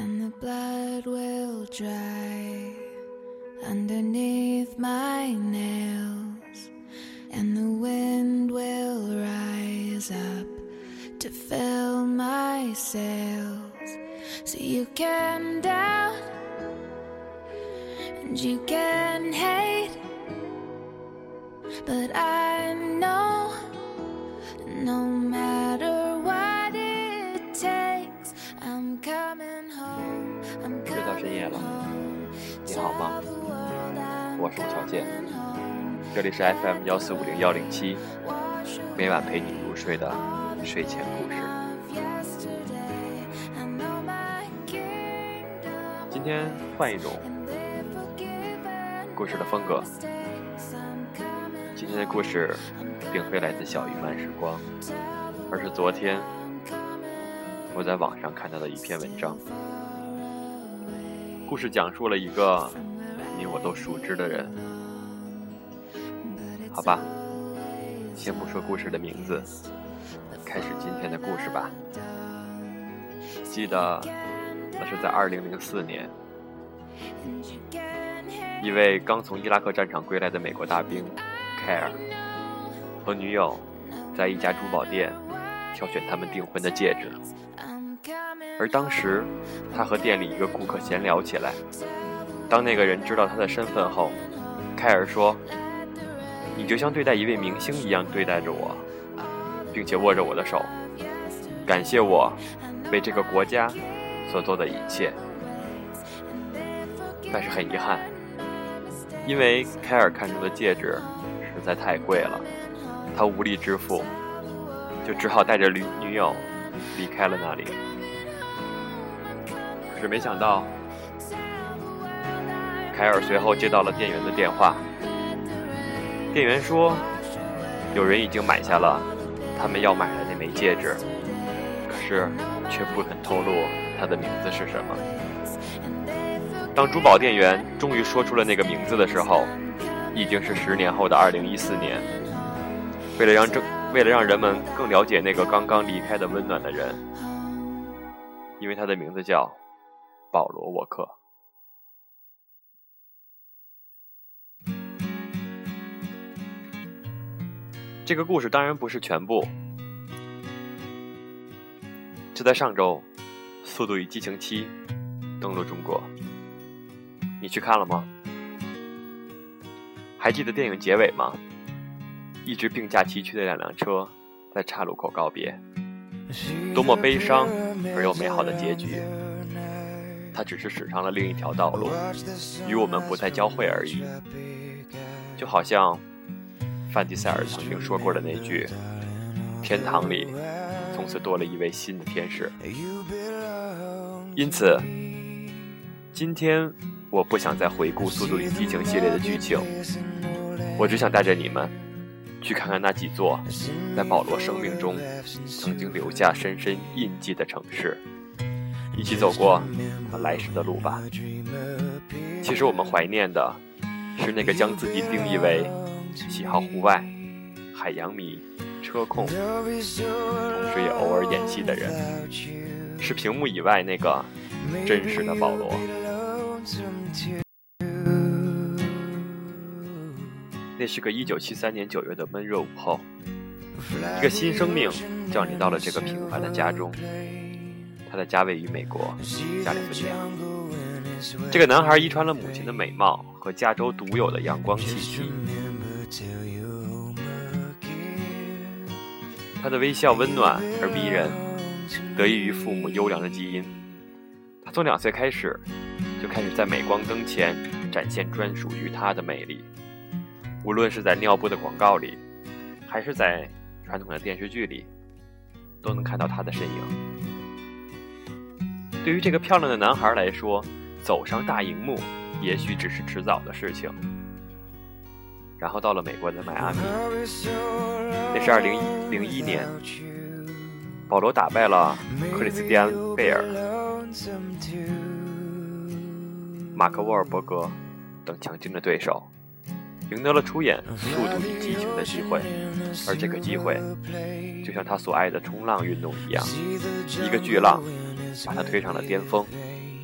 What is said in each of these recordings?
and the blood will dry underneath my nails, and the wind will rise up to fill my sails. So you can doubt and you can hate, but I know no matter what it takes, I'm coming home, I'm coming home. 你好吗？我是吴小健，这里是 FM1450-107，每晚陪你入睡的睡前故事。今天换一种故事的风格。今天的故事并非来自小雨漫时光，而是昨天我在网上看到的一篇文章。故事讲述了一个你我都熟知的人。好吧，先不说故事的名字，开始今天的故事吧。记得那是在2004年，一位刚从伊拉克战场归来的美国大兵凯尔和女友在一家珠宝店挑选他们订婚的戒指，而当时他和店里一个顾客闲聊起来。当那个人知道他的身份后，凯尔说：“你就像对待一位明星一样对待着我，并且握着我的手，感谢我为这个国家所做的一切。”但是很遗憾，因为凯尔看中的戒指实在太贵了，他无力支付，就只好带着女友离开了那里。可是没想到，凯尔随后接到了店员的电话。店员说，有人已经买下了他们要买的那枚戒指，可是却不肯透露他的名字是什么。当珠宝店员终于说出了那个名字的时候，已经是10年后的2014年。为了让人们更了解那个刚刚离开的温暖的人，因为他的名字叫保罗·沃克。这个故事当然不是全部。就在上周，《速度与激情7》登陆中国，你去看了吗？还记得电影结尾吗？一直并驾齐驱的两辆车在岔路口告别，多么悲伤而又美好的结局。它只是驶上了另一条道路，与我们不再交汇而已。就好像范迪塞尔曾经说过的那句，天堂里从此多了一位新的天使。因此今天我不想再回顾《速度与激情》系列的剧情，我只想带着你们去看看那几座在保罗生命中曾经留下深深印记的城市，一起走过他来时的路吧。其实我们怀念的是那个将自己定义为喜好户外、海洋迷、车控，同时也偶尔演戏的人，是屏幕以外那个真实的保罗。那是个1973年9月的闷热午后，一个新生命降临到了这个平凡的家中。他的家位于美国加利福尼亚。这个男孩遗传了母亲的美貌和加州独有的阳光气息，他的微笑温暖而逼人，得益于父母优良的基因。他从2岁开始就开始在镁光灯前展现专属于他的魅力，无论是在尿布的广告里，还是在传统的电视剧里，都能看到他的身影。对于这个漂亮的男孩来说，走上大荧幕也许只是迟早的事情。然后到了美国的迈阿密，那是2001年，保罗打败了克里斯蒂安·贝尔、马克·沃尔伯格等强劲的对手，赢得了出演《速度与激情》的机会。而这个机会就像他所爱的冲浪运动一样，一个巨浪把他推上了巅峰，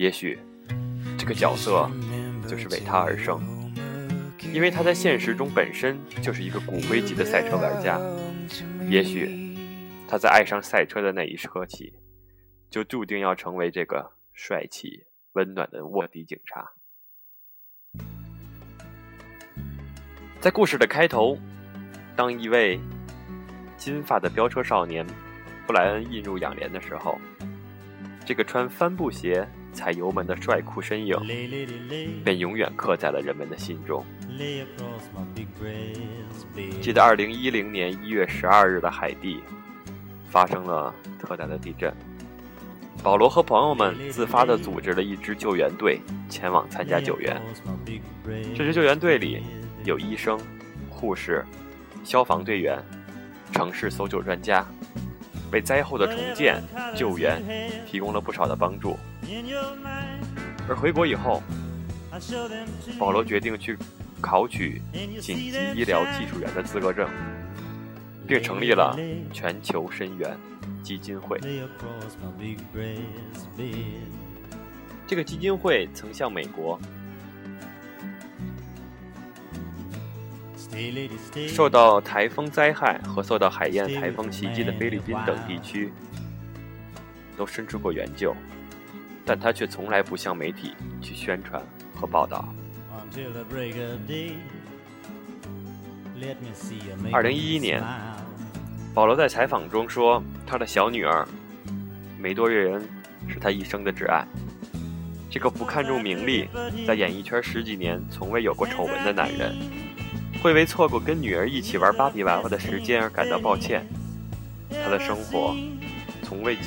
也许这个角色就是为他而生，因为他在现实中本身就是一个骨灰级的赛车玩家。也许他在爱上赛车的那一刻起，就注定要成为这个帅气温暖的卧底警察。在故事的开头，当一位金发的飙车少年布莱恩映入眼帘的时候，这个穿帆布鞋踩油门的帅酷身影便永远刻在了人们的心中。记得2010年1月12日的海地发生了特大的地震，保罗和朋友们自发地组织了一支救援队前往参加救援。这支救援队里有医生、护士、消防队员、城市搜救专家，为灾后的重建救援提供了不少的帮助。而回国以后，保罗决定去考取紧急医疗技术员的资格证，并成立了全球申援基金会。这个基金会曾向美国受到台风灾害和受到海燕台风袭击的菲律宾等地区都伸出过援救，但他却从来不向媒体去宣传和报道。2011年，保罗在采访中说，他的小女儿梅多瑞恩是他一生的挚爱。这个不看重名利，在演艺圈10几年从未有过丑闻的男人，会为错过跟女儿一起玩芭比娃娃的时间而感到抱歉。他的生活从未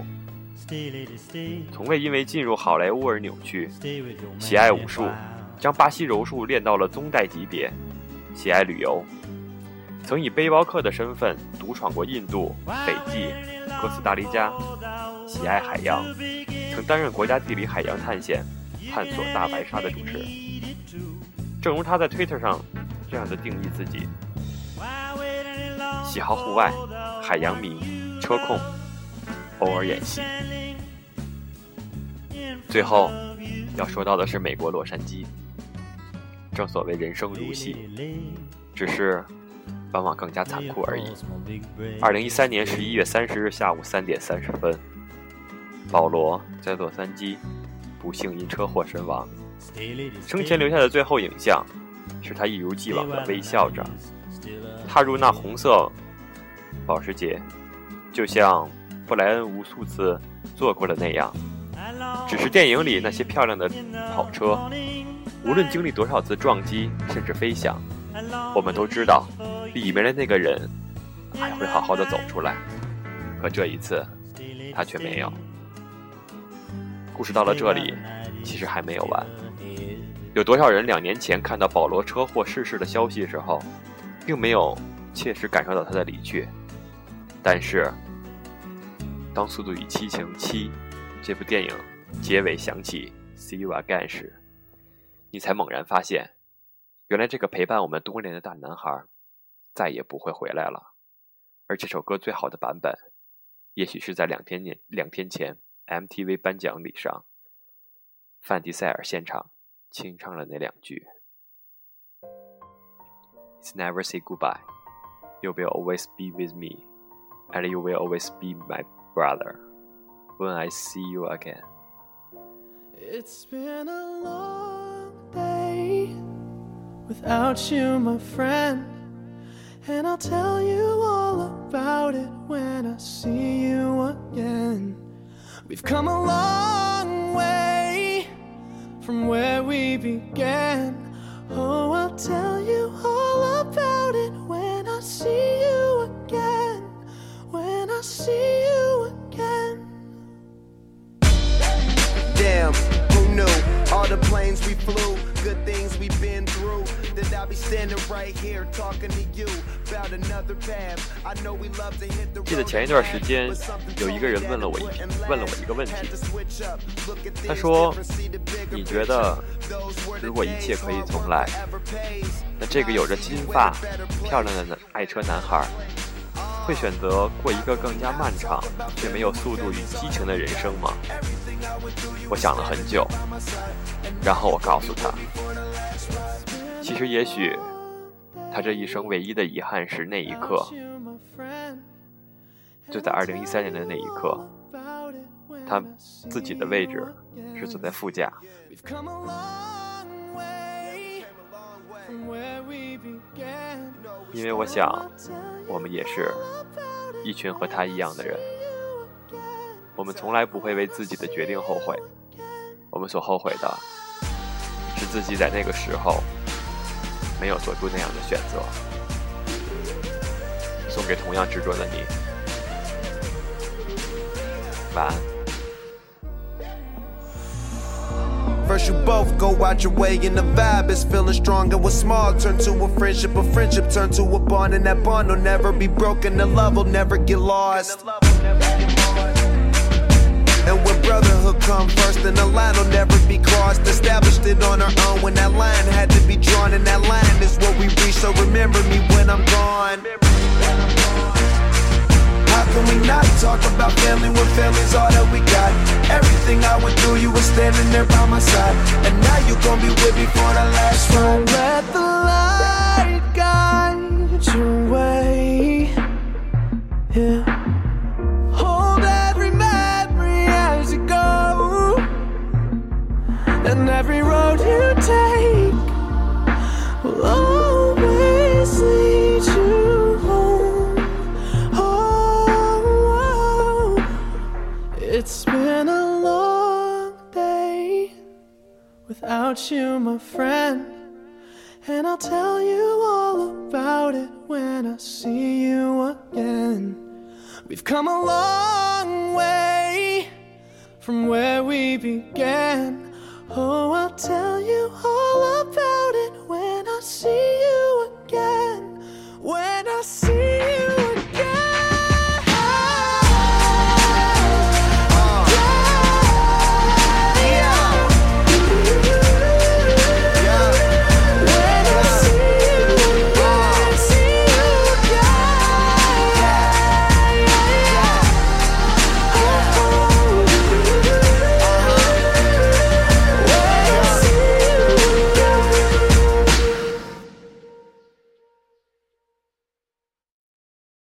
因为进入好莱坞而扭曲，喜爱武术，将巴西柔术练到了宗带级别，喜爱旅游，曾以背包客的身份独闯过印度、斐济、哥斯达黎加，喜爱海洋，曾担任国家地理海洋探险探索大白鲨的主持。正如他在 Twitter 上这样的定义自己：喜好户外，海洋迷，车控，偶尔演戏。最后要说到的是美国洛杉矶。正所谓人生如戏，只是往往更加残酷而已。2013年11月30日下午3点30分，保罗在洛杉矶不幸因车祸身亡。生前留下的最后影像是他一如既往的微笑着踏入那红色保时捷，就像布莱恩无数次做过的那样。只是电影里那些漂亮的跑车，无论经历多少次撞击甚至飞翔，我们都知道里面的那个人还会好好的走出来，可这一次他却没有。故事到了这里其实还没有完。有多少人2年前看到保罗车祸逝世的消息时候，并没有切实感受到他的离去，但是当《速度与激情7》这部电影结尾响起 See you again 时，你才猛然发现，原来这个陪伴我们多年的大男孩再也不会回来了。而这首歌最好的版本，也许是在2天前 MTV 颁奖礼上，范迪塞尔现场清唱了那2句 It's never say goodbye, you will always be with me, and you will always be my brother when I see you again. It's been a long day without you, my friend, and I'll tell you all about it when I see you again. We've come a long way from where we began. Oh, I'll tell you all about it when I see you again, when I see you again. Damn, who knew? All the planes we flew, good things we've been through. That I'll be standing right here talking to you about another path. I know we love to hit the road. 记得前一段时间，有一个人问了我一个问题，他说：“你觉得，如果一切可以重来，那这个有着金发、漂亮的爱车男孩，会选择过一个更加漫长却没有速度与激情的人生吗？” 我想了很久，然后我告诉他，其实也许他这一生唯一的遗憾是那一刻，就在2013年的那一刻，他自己的位置是坐在副驾。因为我想我们也是一群和他一样的人，我们从来不会为自己的决定后悔，我们所后悔的是自己在那个时候没有做出那样的选择。送给同样执着的你，晚安。 First you both go out your way and the vibe is feeling strong, and what's small turn to a friendship turn to a bond, and that bond will never be broken, the love will never get lost. And when brotherhood come first, then the line will never be crossed. Established it on our own when that line had to be drawn, and that line is what we reach, so remember me when I'm gone. How can we not talk about family when family's all that we got? Everything I went through, you were standing there by my side, and now you gon' be with me for the last ride. So let the light guide your way, yeah. Hold every memory as you go, and every road you take will always lead you home. Oh, it's been a long day without you, my friend, and I'll tell you all about it when I see you again. We've come a long way from where we began. Oh, I'll tell